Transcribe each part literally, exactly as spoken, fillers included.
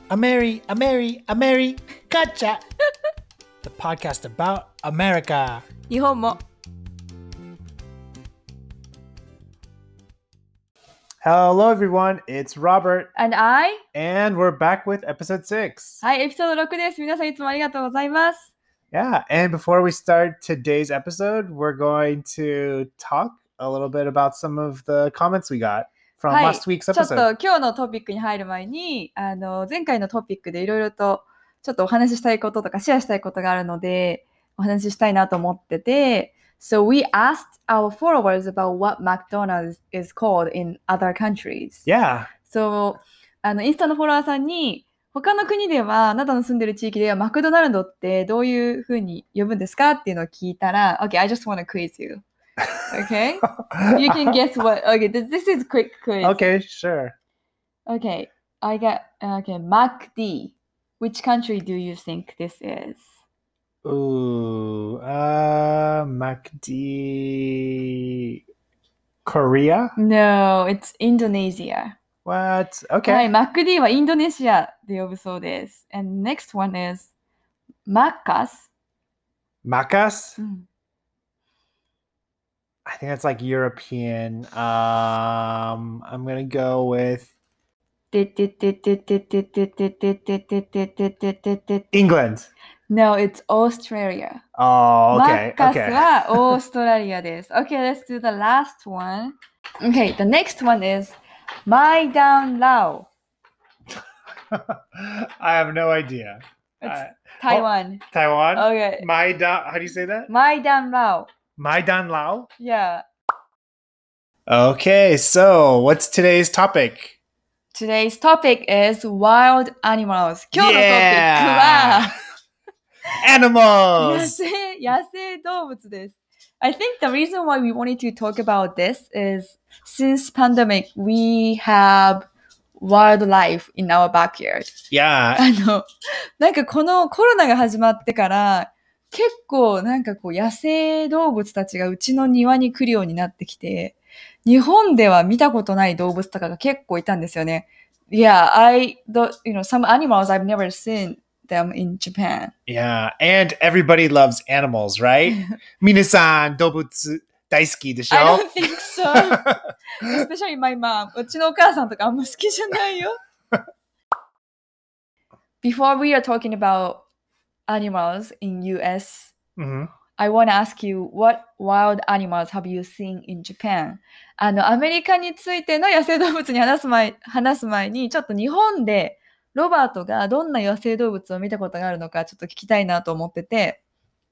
Ameri, Ameri, Ameri, Gotcha! The podcast about America. 日本も Hello everyone, it's Robert, And I? and we're back with episode six. はい、エピソードろくです。皆さんいつもありがとうございます。 Yeah, and before we start today's episode, we're going to talk a little bit about some of the comments we got from はい、 last week's ちょっ episode. と今日のトピックに入る前に、あの前回のトピックでいろいろとちょっとお話ししたいこととかシェアしたいことがあるので、お話ししたいなと思ってて、So we asked our followers about what McDonald's is called in other countries. Yeah. So あのインスタのフォロワーさんに他の国では、あなたの住んでる地域ではマクドナルドってどういうふうに呼ぶんですかっていうのを聞いたら、Okay, I just want to quiz you. Okay? You can guess what. Okay, this, this is quick quiz. Okay, sure. Okay, I got, okay, MacD. Which country do you think this is? Ooh, uh, MacD. Korea? No, it's Indonesia. What? Okay. はい、MacD はインドネシアで呼ぶそうです。And next one is Macas. Macas? うん I think that's like European. Um, I'm gonna go with England. No, it's Australia. Oh, okay. マッカス Okay. はオーストラリアです。Okay, let's do the last one. Okay, the next one is My Down Lao. I have no idea. It's Uh, Taiwan. Taiwan? Okay. Maidan. How do you say that? My Down Lao. Maidan Lao? Yeah. Okay, so what's today's topic? Today's topic is wild animals. 今日のトピック Yeah! は Animals! 野生、野生動物です。I think the reason why we wanted to talk about this is since pandemic, we have wildlife in our backyard. Yeah. あの、なんかこのコロナが始まってから結構なんかこう野生動物たちがうちの庭に来るようになってきて、日本では見たことない動物とかが結構いたんですよね。Yeah, I, the, you know, some animals I've never seen them in Japan. Yeah, and everybody loves animals, right? 皆さん動物大好きでしょ? I don't think so. Especially my mom. うちのお母さんとかあんま好きじゃないよ。Before we are talking about animals in U S, Mhm. I want to ask you, what wild animals have you seen in Japan? あの、アメリカについての野生動物に話す前、話す前に、ちょっと日本でロバートがどんな野生動物を見たことがあるのかちょっと聞きたいなと思ってて。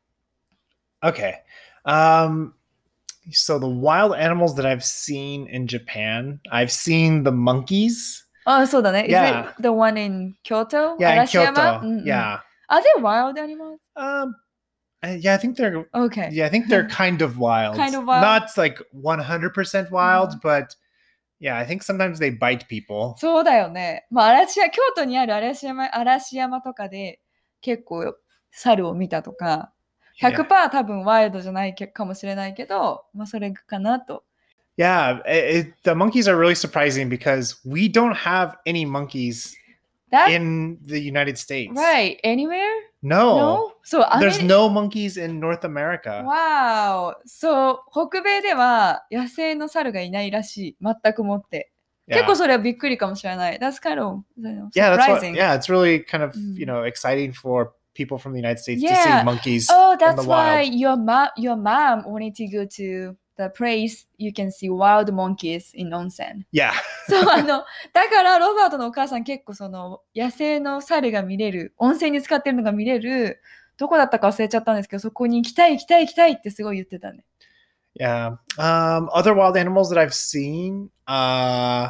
Okay. Um, so the wild animals that I've seen in Japan, I've seen the monkeys. あ、そうだね。Is Yeah. it the one in Kyoto? Yeah, in 嵐山 Kyoto. うんうん Yeah. Are they wild animals? Um, uh, yeah, I think they're. Okay. Yeah, I think they're kind of wild. Kind of wild? Not like one hundred percent wild, Mhm. but yeah, I think sometimes they bite people. そうだよね。まあ、嵐山、京都にある嵐山、嵐山とかで結構猿を見たとか、ひゃくパーセント 多分ワイルドじゃないかもしれないけど、まあそれかなと。 Yeah, it, it, the monkeys are really surprising because we don't have any monkeys That, in the United States. right. Anywhere? No. No? そう、アメ There's リ no monkeys in North America. Wow. そう、北米では野生の猿がいないらしい。全くもって。結 Yeah. 構それはびっくりかもしれない。That's kind of you know, Yeah, that's what, surprising. yeah, it's really kind of, Mm. you know, exciting for people from the United States to Yeah. see monkeys Oh, in that's the why wild. your mom, your mom wanted to go to the place you can see wild monkeys in onsen. Yeah. そう、あの、だからロバートのお母さん結構その野生の猿が見れる、温泉に使ってるのが見れる、どこだったか忘れちゃったんですけど、そこに行きたい行きたい行きたいってすごい言ってたね。 Yeah. Um, other wild animals that I've seen, uh,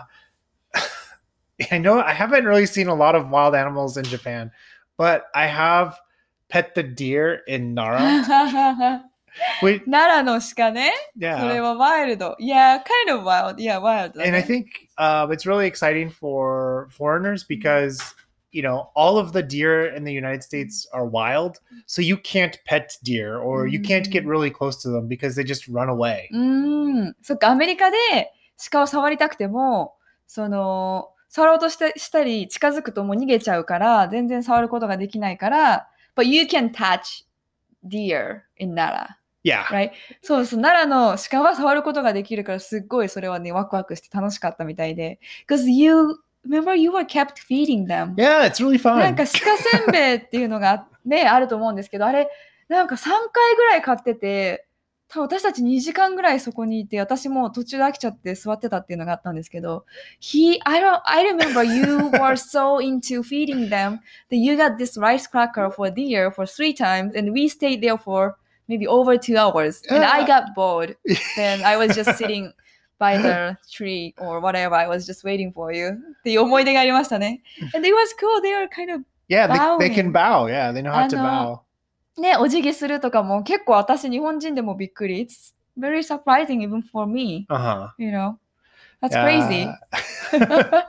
I know I haven't really seen a lot of wild animals in Japan, but I have pet the deer in Nara. Wait, 奈良の鹿ね。それ yeah. はワイルド。Yeah, kind of wild. Yeah, wild だね。 And I think uh, it's really exciting for foreigners because, you know, all of the deer in the United States are wild. So you can't pet deer or you can't get really close to them because they just run away. うーん。そっか、アメリカで鹿を触りたくても、その、 触ろうとしてしたり近づくともう逃げちゃうから全然触ることができないから But you can touch deer in Yeah. Nara、right? そうです。奈良の鹿は触ることができるからすっごいそれはねワクワクして楽しかったみたいで Because you remember you were kept feeding them Yeah, it's really なん fun. か鹿せんべいっていうのがねあると思うんですけどあれなんかさんかいぐらい買ってて多分私たちにじかんぐらいそこにいて私も途中で飽きちゃって座ってたっていうのがあったんですけど He, I don't, I remember you were so into feeding them that you got this rice cracker for deer for three times and we stayed there for maybe over two hours and I got bored then I was just sitting by the tree or whatever I was just waiting for you っていう思い出がありましたね and it was cool they were kind of Yeah, they, they can bowing bow. Yeah, they know how あ to の bow. ね、お辞儀するとかも結構私日本人でもびっくり。It's very surprising even for me. Uh-huh. You know, that's Yeah. crazy.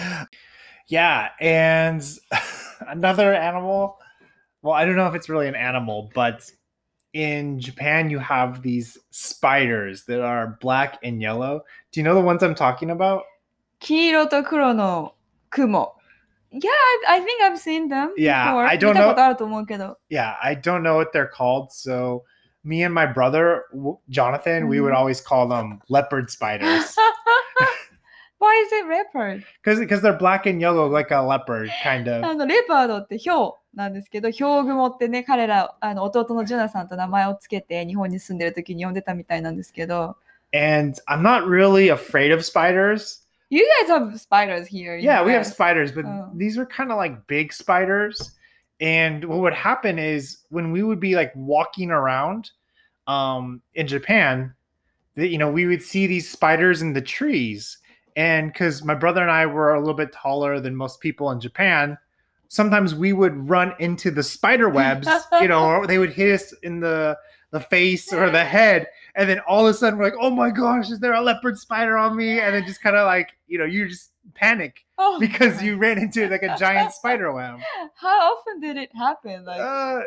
Yeah, and another animal. Well, I don't know if it's really an animal, but in Japan you have these spiders that are black and yellow. Do you know the ones I'm talking about? 黄色と黒の雲。Yeah, I, I think I've seen them Yeah, before. I don't 見たこと know. あると思うけど。 Yeah, I don't know what they're called. So me and my brother w- Jonathan, we would Mhm. always call them leopard spiders Why is it leopard? because because they're black and yellow like a leopard kind あ of. のレパードってヒョウなんですけど、ヒョウ雲ってね、彼らあの弟のジョナサンと名前をつけて日本に住んでる時に呼んでたみたいなんですけど。 And I'm not really afraid of spiders. You guys have spiders here. in Yeah, we have U S. spiders, but Oh. these are kind of like big spiders. And what would happen is when we would be like walking around um, in Japan, that you know, we would see these spiders in the trees. And because my brother and I were a little bit taller than most people in Japan, sometimes we would run into the spider webs, you know, or they would hit us in the the face or the head, and then all of a sudden we're like, oh my gosh, is there a leopard spider on me? And then just kind of like, you know, you just panic Oh because my. you ran into like a giant spider web. How often did it happen? Like Uh,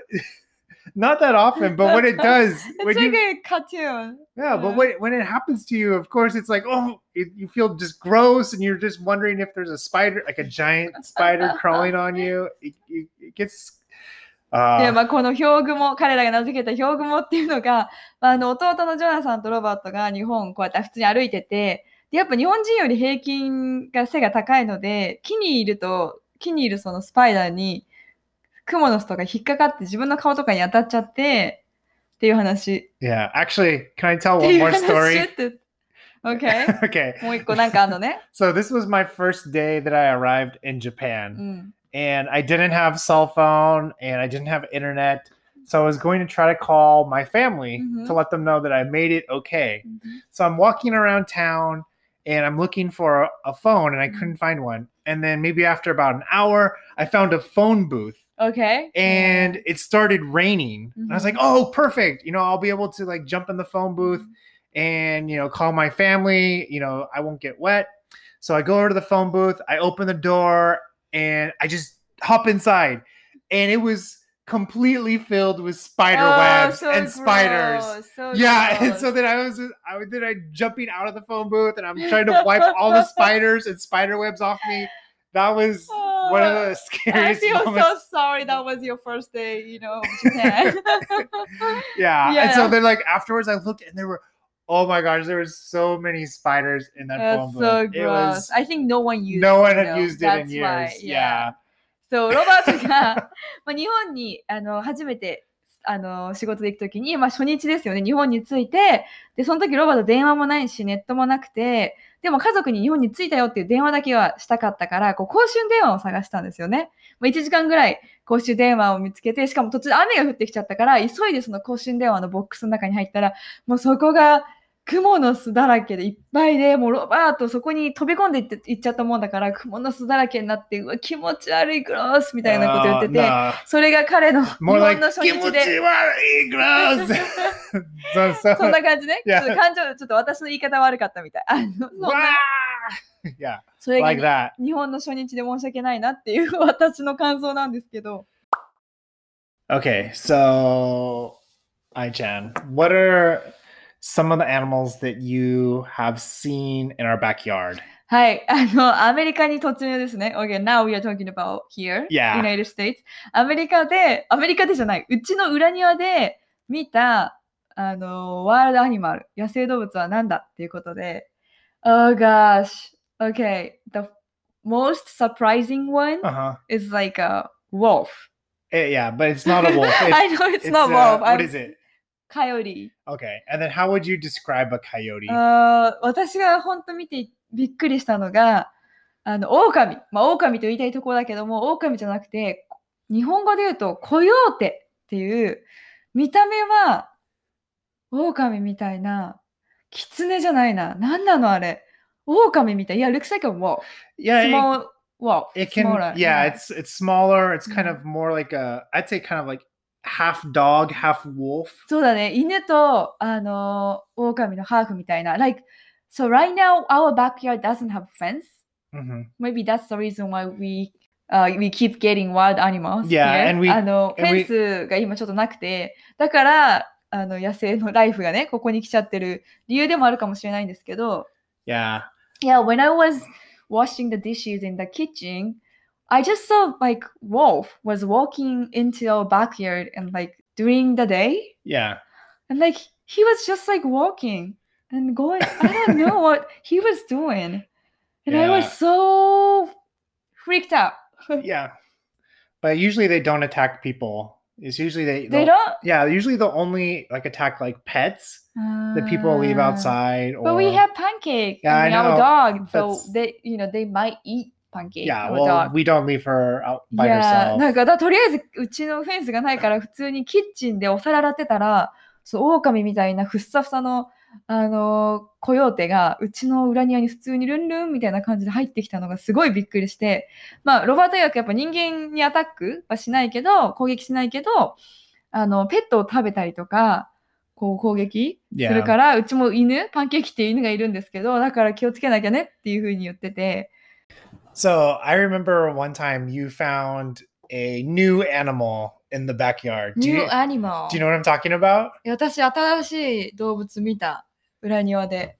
not that often, but when it does, it's when like you, a cartoon. yeah, but when, when it happens to you, of course, it's like, oh, it, you feel just gross, and you're just wondering if there's a spider, like a giant spider crawling on you. It, it, it gets. で、 Uh, まあ、このヒョウ雲、彼らが名付けたヒョウ雲っていうのが、まあ、あの弟のジョナサンとロバートが日本こうやって普通に歩いてて、でやっぱ日本人より平均が背が高いので、木にいると、木にいるそのスパイダーに、クモの巣とか引っかかって自分の顔とかに当たっちゃって、っていう話。 yeah, actually, can I tell って one いう more 話 story? って。Okay. Okay. もう一個なんかあんのね。 So this was my first day that I arrived in Japan. うん。 And I didn't have cell phone and I didn't have internet. So I was going to try to call my family Mhm. to let them know that I made it okay. うん。 So I'm walking around town and I'm looking for a, a phone and I couldn't find one. And then maybe after about an hour, I found a phone booth Okay. and it started raining. And I was Mhm. like, oh, perfect. You know, I'll be able to like jump in the phone booth and, you know, call my family. You know, I won't get wet. So I go over to the phone booth, I open the door, and I just hop inside. And it was completely filled with spider Oh, webs so and spiders. gross, so Yeah, and gross. so then I was I was then I jumping out of the phone booth and I'm trying to wipe all the spiders and spider webs off me. That was one of the I scariest feel so moments. sorry that was your first day, you know, of Japan. Yeah. And so Yeah. then like afterwards I looked and there were oh my gosh, there was so many spiders in that phone That's booth. so It gross. was I think no one used no one it, had you know. used it in That's years. why, Yeah. そう、ロバートがまあ日本にあの初めてあの仕事で行くときに、まあ、初日ですよね、日本に着いて、でその時ロバート電話もないし、ネットもなくて、でも家族に日本に着いたよっていう電話だけはしたかったから、こう公衆電話を探したんですよね。まあ、いちじかんぐらい公衆電話を見つけて、しかも途中で雨が降ってきちゃったから、急いでその公衆電話のボックスの中に入ったら、もうそこがクモの巣だらけでいっぱいで、もうロバートそこに飛び込んでいっていっちゃったもんだから、クモの巣だらけになって、うわ、気持ち悪い、グロースみたいなこと言ってて、 Uh, no. それが彼の日 More 本 like の初日で、 "Kimuchiwari, gross." so, so, そんな感じね。ち Yeah. ょっと感情、ちょっと私の言い方悪かったみたい。あのそんな Wah! Yeah, それが like that. 日本の初日で申し訳ないなっていう私の感想なんですけど。 Okay, so Ai-chan, what are some of the animals that you have seen in our backyard? はい。あの、アメリカに突入ですね。Okay, now we are talking about here, Yeah. United States. アメリカで、アメリカでじゃない、うちの裏庭で見た、あの、ワールドアニマル、野生動物は何だっていうことで、Oh gosh. Okay. The most surprising one Uh-huh. is like a wolf. Eh, yeah, but it's not a wolf. It's, I know it's, it's, not uh, wolf. What I'm is it? coyote. Okay. And then how would you describe a coyote? あー私が本当見てびっくりしたのが、あの、狼。まあ、狼と言いたいところだけども、狼じゃなくて、日本語で言うと、コヨーテっていう、見た目は、狼みたいな、狐じゃないな。なんなのあれ。狼みたい。いや、looks like a wolf. Yeah, it, Small wolf. it can. Smaller. Yeah, it's it's smaller. It's kind of more like a. I'd say kind of like half dog, half wolf. そうだね。犬と、あの、狼のハーフみたいな。Like, so right now, our backyard doesn't have fence. Mm-hmm. Maybe that's the reason why we, uh, we keep getting wild animals Yeah, here. and we- あの、フ and ェ we- ンスが今ちょっとなくて、だから、あの、野生のライフがね、ここに来ちゃってる理由でもあるかもしれないんですけど、 Yeah. Yeah, when I was washing the dishes in the kitchen, I just saw like wolf was walking into our backyard and like during the day, Yeah. and like he was just like walking and going. I don't know what he was doing, and I was Yeah. so freaked out. Yeah. But usually they don't attack people. It's usually they. They they'll- don't. Yeah, usually they'll only like attack like pets that people leave Ah. outside. Or But we have pancake. Yeah, I mean, I our know. dog, so That's- they, you know, they might eat pancake. yeah. our Well, dog. we don't leave her out by いやー herself. なんかだとりあえずうちのフェンスがないから普通にキッチンでお皿洗ってたらそう狼みたいなふっさふさの、あのーコヨーテがうちの裏庭に普通にルンルンみたいな感じで入ってきたのがすごいびっくりしてまあロバート曰くやっぱ人間にアタックはしないけど攻撃しないけどあのペットを食べたりとかこう攻撃するからうちも犬パンケーキっていう犬がいるんですけどだから気をつけなきゃねっていうふうに言ってて So I remember one time you found a new animal in the backyard. Do New you, animal do you know what I'm talking about? いや私新しい動物見た裏庭で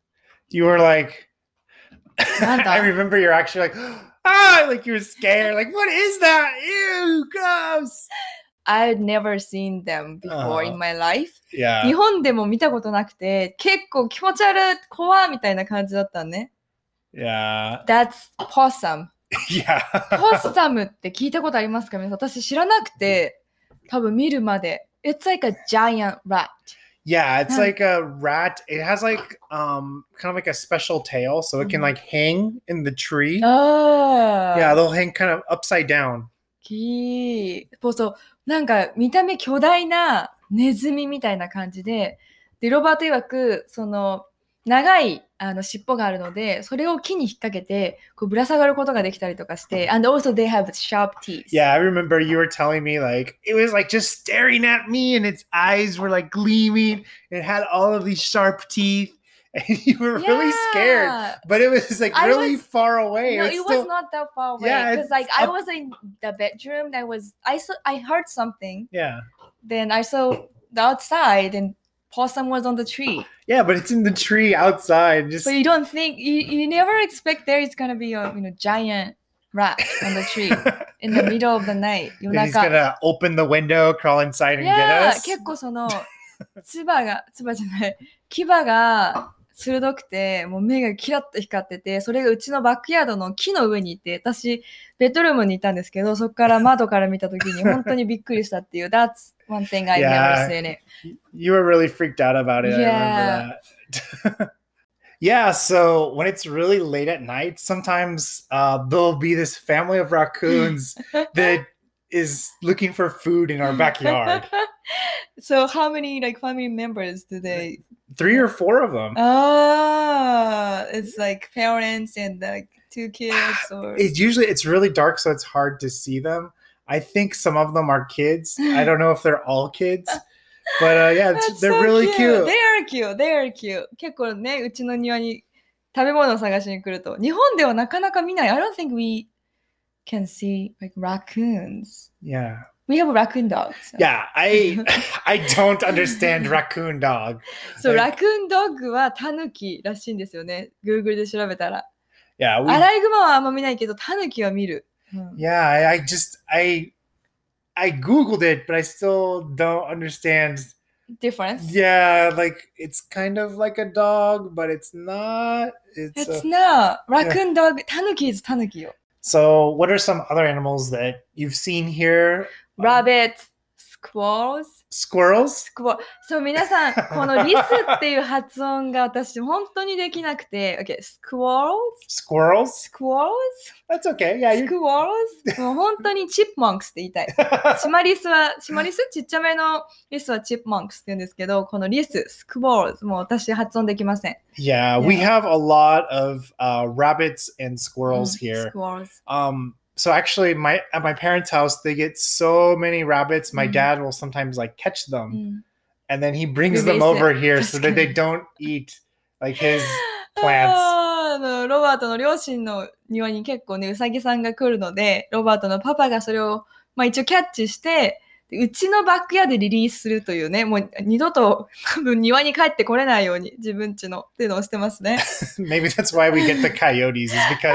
You were like, なんだ I remember you're actually like, ah, like you were scared. Like, what is that? Ew, gross. I'd never seen them before Uh-huh. in my life Yeah. 日本でも見たことなくて結構気持ち悪い怖いみたいな感じだったね Yeah. That's possum Yeah. ポッサムって聞いたことありますか皆さん私知らなくて多分見るまで It's like a giant rat Yeah, it's Huh. like a rat. It has like um kind of like a special tail, so it can Mhm. like hang in the tree. ああ Yeah, they'll hang kind of upside down. きそうそうなんか見た目巨大なネズミみたいな感じででロバート曰くその長いあの尻尾があるのでそれを木に引っ掛けてこうぶら下がることができたりとかして and also they have sharp teeth Yeah, I remember you were telling me like it was like just staring at me and its eyes were like gleaming. It had all of these sharp teeth and you were really scared. Yeah. But it was like I really was- far away. No, It's it still- was not that far away Yeah, because it's like I up- was in the bedroom that was I saw I heard something Yeah. then I saw the outside and possum was on the tree Yeah, but it's in the tree outside. Just so you don't think you, you never expect there is gonna be a you know giant rat on the tree in the middle of the night 夜 And he's 中 gonna open the window, crawl inside and get Yeah, us. 結構その唾が唾じゃない牙が鋭くてもう目がキラッと光っててそれがうちのバックヤードの木の上にいて私ベッドルームにいたんですけどそこから窓から見た時に本当にびっくりしたっていう That's one thing I've Yeah. never seen it You were really freaked out about it. Yeah. I remember that. Yeah, so when it's really late at night, sometimes uh, there'll be this family of raccoons that is looking for food in our backyard. So how many like family members do they Three or four of them. Ah, it's like parents and like two kids or It's usually it's really dark, so it's hard to see them. I think some of them are kids. I don't know if they're all kids, but uh, yeah, it's, That's they're so really cute. They are cute. They are cute. 結構ね、うちの庭に食べ物を探しに来ると。日本ではなかなか見ない。I don't think we can see like raccoons. Yeah, We have raccoon dogs. yeah. I I don't understand raccoon dog. So Like- raccoon dog はタヌキらしいんですよね。Google で調べたら。 Yeah, we, アライグマはあんま見ないけど、タヌキは見る。うん yeah, I, I just I I googled it, but I still don't understand. difference? Yeah, like it's kind of like a dog, but it's not. It's It's a, not. Raccoon dog. タヌキ is タヌキよ。 so. What are some other animals that you've seen here? Rabbit, squirrels, Squirrels. squirrel. そう、皆さん、このリスっていう発音が私本当にできなくて。Okay, squirrels, Squirrels. squirrels, That's okay. Yeah, you. squirrels. もう本当にチップモンクスって言いたい。シマリスは、シマリスちっちゃめのリスはチップモンクスって言うんですけど、このリス、スクボールズ、もう私発音できません。 Yeah, we Yeah. have a lot of uh, rabbits and squirrels うん here. Squirrels. Um, so actually, my at my parents' house, they get so many rabbits. My Mm. dad will sometimes like catch う them, ん and then he brings Release them over it. here so that they 確か don't eat like his plants. あーあのロバートの両親の庭に結構ね、ウサギさんが来るので、ロバートのパパがそれを、まあ、一応キャッチして、でうちのバックヤードでリリースするというね、もう二度と多分庭に帰ってこれないように自分家のっていうのをしてますね。 Maybe that's why we get the coyotes, is because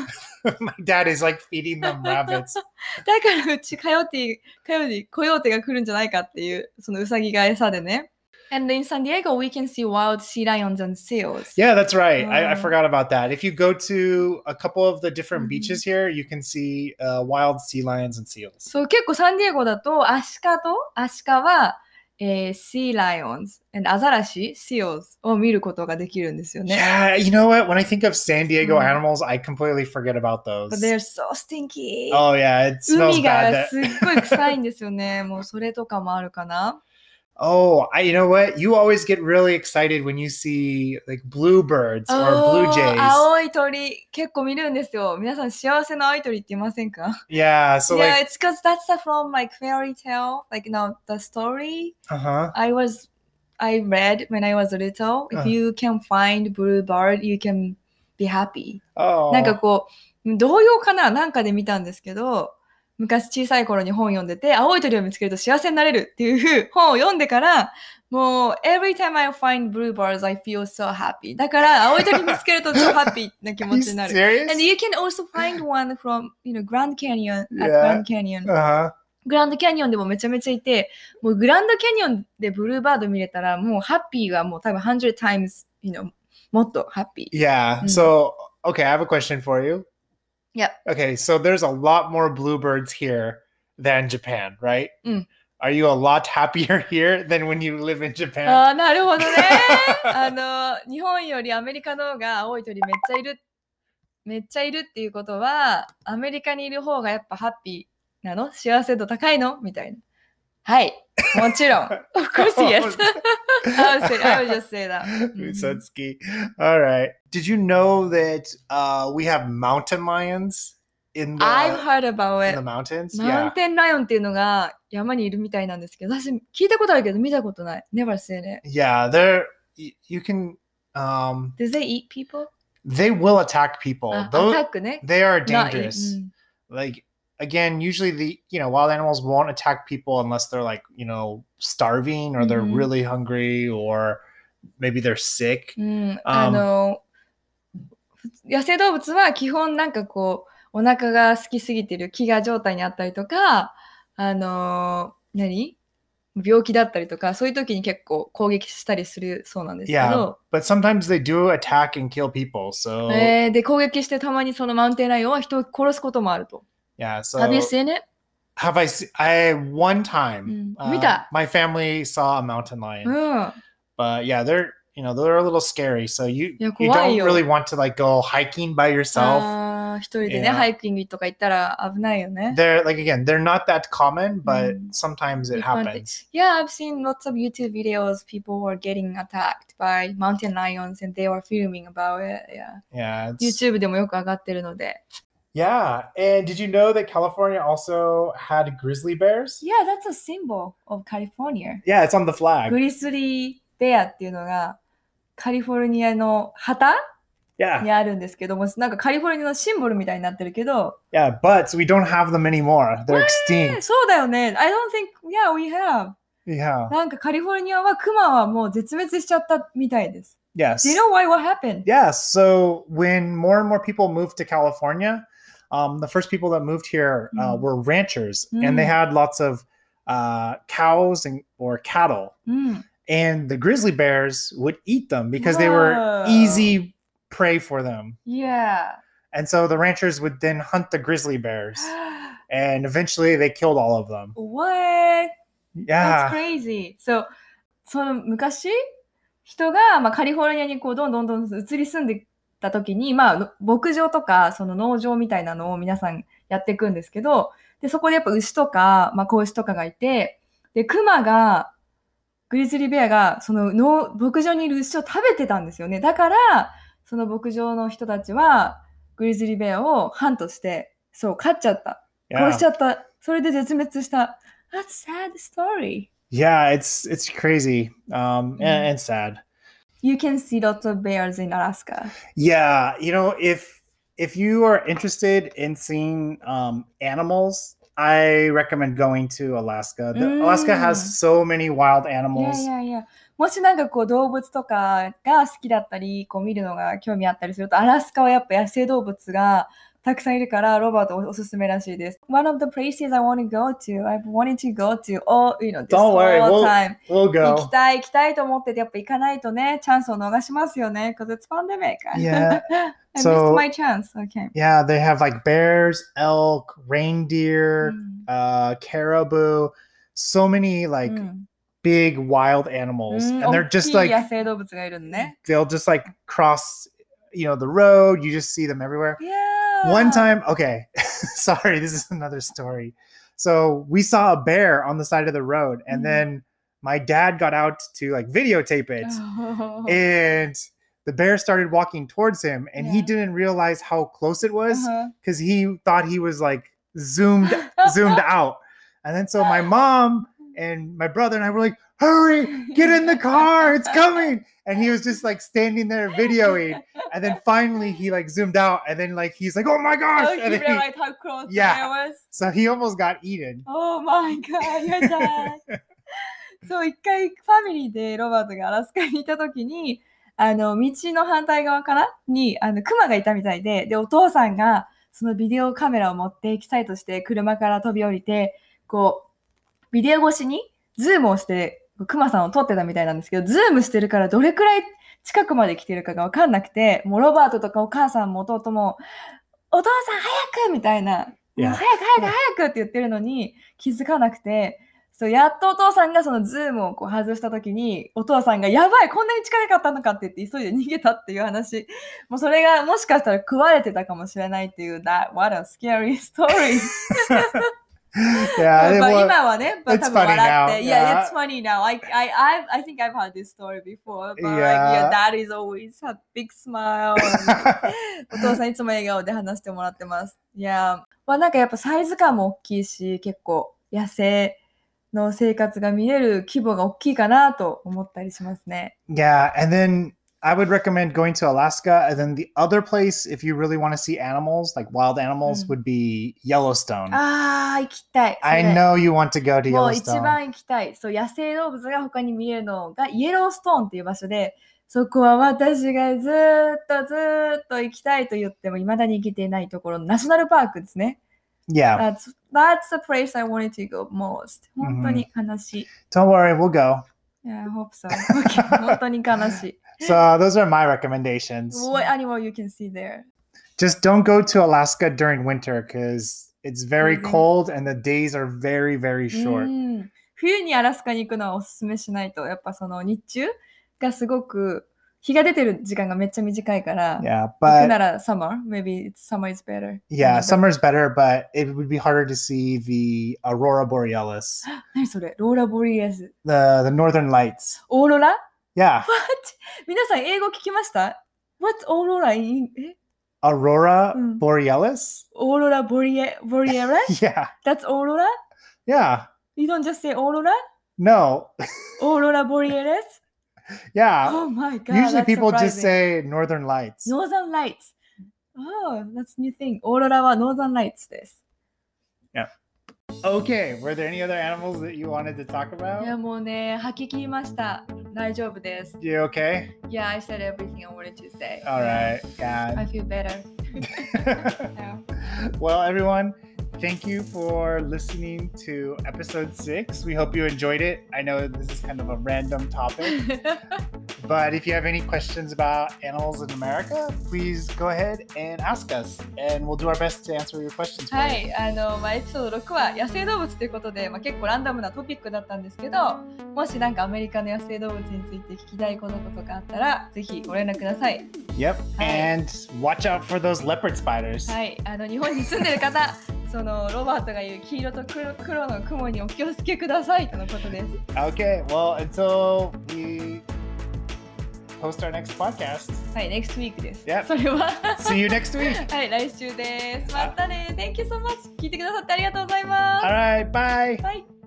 my dad is like feeding them rabbits. だからうちカヨティ、カヨティ、コヨーテが来るんじゃないかっていう、そのウサギが餌でね。And in San Diego, we can see wild sea lions and seals. Yeah, that's right. I, I Oh. forgot about that. If you go to a couple of the different Mhm. beaches here, you can see uh, wild sea lions and seals. そう、結構サンディエゴだと、アシカと、アシカは、えー、sea lions and アザラシ、seals を見ることができるんですよね。 Yeah, you know what? When I think of San Diego Mm. animals, I completely forget about those. But they're so stinky. Oh yeah, it smells 海 bad. が That, すっごい臭いんですよね。もうそれとかもあるかな。 oh, I, you know what? You always get really excited when you see like bluebirds or blue おー jays. 青い鳥、結構見るんですよ。皆さん幸せの青い鳥って言いませんか？ Yeah, so Yeah, like, it's because that's from like fairy tale, like you know, the story uh-huh. I was, I read when I was little. If Uh. you can find blue bird, you can be happy. Oh. なんかこう、童謡かななんかで見たんですけど、昔小さい頃に本読んでて、青い鳥を見つけると幸せになれるっていう本を読んでから、もう、every time I find blue birds, I feel so happy. だから、青い鳥見つけると超ハッピーな気 Are 持 you ちになる。 serious? And you can also find one from, you know, Grand Canyon, at Yeah. Grand Canyon. Uh-huh. グランドキャニオンでもめちゃめちゃいて、もうグランドキャニオンでブルーバード見れたら、もうハッピーがもう多分 one hundred times, you know, もっとハッピー。 Yeah. Mm. So, okay, I have a question for you. Yep. Okay, so there's a lot more bluebirds here than Japan, right? Mm. Are you a lot happier here than when you live in Japan? ああ、なるほどね。あの、日本よりアメリカの方が青い鳥めっちゃいる、めっちゃいるっていうことは、アメリカにいる方がやっぱハッピーなの？幸せ度高いの？みたいな。はい。もちろん。Of course, yes. I would say, I would just say that. Mhm. Usatsuki. All right. Did you know that uh, we have mountain lions in the, I've heard about in it. the mountains? マウン Yeah. テンライオンっていうのが山にいるみたいなんですけど、私聞いたことあるけど見たことない。Never seen it. Yeah, they're y- you can um Do they eat people? they will attack people. あ、ア Those タックね。 they are Not eat- dangerous. うん Like again, usually the you know wild animals won't attack people unless they're like you know starving or they're Mhm. really hungry or maybe they're sick. うん、あの、野生動物は基本なんかこう、お腹が空きすぎてる飢餓状態にあったりとか、あの、何病気だったりとか、そういう時に結構攻撃したりするそうなんですけ Yeah, ど、 but sometimes they do attack and kill people. So えーで、攻撃してたまにそのマウンテンライオンは人を殺すこともあると。 yeah, so Have you seen it? have I se- I one time Mm. uh, Mita. my family saw a mountain lion. うん。 But yeah, they're you know they're a little scary. So you Yeah, you 怖い don't よ。 really want to like go hiking by yourself. あー一人でね、 Yeah. ハイキングとか行ったら危ないよね。 They're like again, they're not that common, but Mm. sometimes it 一般的。 happens. Yeah, I've seen lots of YouTube videos. People were getting attacked by mountain lions and they were filming about it. Yeah. Yeah. It's, YouTube でもよく上がってるので。 yeah. And did you know that California also had grizzly bears? Yeah, that's a symbol of California. Yeah, it's on the flag. グリスリーベアっていうのがカリフォルニアの旗 Yeah. にあるんですけども、なんかカリフォルニアのシンボルみたいになってるけど、 Yeah, but we don't have them anymore. They're え extinct. そうだよね。I don't think, yeah, we have. Yeah. なんかカリフォルニアはクマはもう絶滅しちゃったみたいです。 Yes. Do you know why? What happened? Yeah. So when more and more people moved to California, um, the first people that moved here uh, Mm. were ranchers, Mm. and they had lots of uh, cows and or cattle, うん。 and the grizzly bears would eat them because they were Whoa. easy prey for them. Yeah. And so the ranchers would then hunt the grizzly bears, and eventually they killed all of them. What? That's Yeah. crazy. So, その昔、人が、まあ、カリフォルニアにこうどんどんどんどん移り住んでた時に、まあ、牧場とかその農場みたいなのを皆さんやっていくんですけど、でそこでやっぱ牛とか、まあ、子牛とかがいて、でクマがグリズリーベアがその農牧場にいる牛を食べてたんですよね。だからその牧場の人たちはグリズリーベアをハントして、そう飼っちゃった、殺しちゃった、それで絶滅した。That's sad story. Yeah, it's it's crazy um, Mm. and, and sad. You can see lots of bears in Alaska. Yeah, you know, if if you are interested in seeing um, animals, I recommend going to Alaska. The, Mm. Alaska has so many wild いや animals. いやいや。もしなんかこう動物とかが好きだったり、こう見るのが興味あったりすると、アラスカはやっぱ野生動物がたくさんいるから、ロバートおすすめらしいです。One of the places I want to go to, I've wanted to go to all, you know, this Don't worry, whole we'll, time. we'll 行き go. たい行きたいと思ってて、やっぱ行かないとね、チャンスを逃しますよね。Because it's pandemic. Yeah. I So- missed my chance. Okay. Yeah, they have like bears, elk, reindeer, うん uh, caribou, so many う like ん big wild animals, うん and they're 大 just きい like 野生動物がいるのね。 they'll just like cross, you know, the road. You just see them everywhere. Yeah. One time, okay, sorry, this is another story. So we saw a bear on the side of the road, and Mhm. then my dad got out to like videotape it, Oh. and the bear started walking towards him, and he Yeah. didn't realize how close it was Uh-huh. because he thought he was like zoomed zoomed out. And then so my mom and my brother and I were like, hurry, get in the car, it's coming. And he was just like standing there videoing. And then finally he like zoomed out, and then like he's like, oh my gosh. Oh, And you then he- realized how close the Yeah. bear was? so he almost got eaten. Oh my god, your dad. そう、一回ファミリーでロバートがアラスカにいたときに、あの、道の反対側からに、あの、クマがいたみたいで、で、お父さんが、そのビデオカメラを持ってエキサイトして車から飛び降りて、こう、ビデオ越しにズームをして、クマさんを撮ってたみたいなんですけど、ズームしてるからどれくらい近くまで来てるかがわかんなくて、もうロバートとかお母さんも弟も、お父さん早くみたいな、もう Yeah. 早く早く早くって言ってるのに気づかなくて、そうやっとお父さんがそのズームをこう外したときに、お父さんがやばいこんなに近かったのかって言って急いで逃げたっていう話。もうそれがもしかしたら食われてたかもしれないっていう、that, what a scary story. Yeah, it まあ was- 今はね、まあ it's 多分笑 funny って now. Yeah, Yeah. it's funny now. I, I, I, I think I've had this story before. But like, Yeah. your dad is always had big smile. お父さんいつも笑顔で話してもらってます。いや、まあなんかやっぱサイズ感も大きいし、結構野生の生活が見れる規模が大きいかなと思ったりしますね。 Yeah, and then I would recommend going to Alaska. And then the other place, if you really want to see animals, like wild animals, Mm. would be Yellowstone. あー、行きたい。それ I know you want to go to もう一 Yellowstone. 番行きたい。そう、野生動物が他に見えるのがイエローストーンっていう場所で、そこは私がずーっとずーっと行きたいと言っても未だに行けていないところのナショナルパークですね。 Yeah, That's, that's the place I wanted to go most. 本当に悲しい。 don't worry, we'll go. Yeah, I hope so. Okay, 本当に悲しい。 So those are my recommendations. What animal you can see there? Just don't go to Alaska during winter because it's very Freezing. cold and the days are very, very う short. ん冬にアラスカに行くのはおすすめしないと、やっぱその日中がすごく日が出てる時間がめっちゃ短いから、 Yeah, 行く but なら summer, maybe it's, summer is better. yeah, But- summer's better, but it would be harder to see the aurora borealis, 何それローラボリアス。 the the northern lights. オーロラ Yeah, What? 皆さん英語聞きました ?What's オーロラ in, え aurora Mm. borealis. オーロラボリエ、ボリエラ Yeah, That's オーロラ yeah. You don't just say オーロラ No, オーロラボリエレス yeah. Oh my god. Usually that's people just surprising. say northern lights. Northern Lights. Oh, that's new thing. オーロラは Northern Lights です。 Okay, were there any other animals that you wanted to talk いや about? もうね、吐き切りました。 大丈夫です。 You okay? Yeah, I said everything I wanted to say. All right. I Yeah. feel better. Yeah. Well, everyone, thank you for listening to episode six. We hope you enjoyed it. I know this is kind of a random topic, but if you have any questions about animals in America, please go ahead and ask us, and we'll do our best to answer your questions for は you. い、あの、まあ、エピソードろくは野生動物ということで、まあ、結構ランダムなトピックだったんですけど、もしなんかアメリカの野生動物について聞きたいこととかあったら、ぜひご連絡ください。 Yep. Hi. And watch out for those leopard spiders. はい、あの日本に住んでる方、そのロバートが言う黄色と 黒, 黒の雲にお気をつけくださいとのことです。 Okay. Well, until we post our next podcast. はい、next week です。 Yep. それは See you next week. はい、来週です。またね。Thank you so much. 聞いてくださってありがとうございます。 All right. Bye. はい。